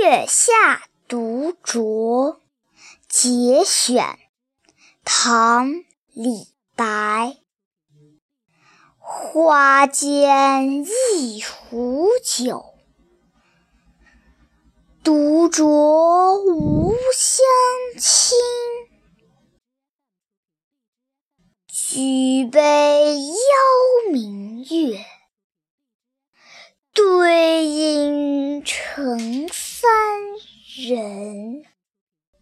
月下独酌节选，唐·李白。花间一壶酒，独酌无相亲。举杯邀明月，对影成三人。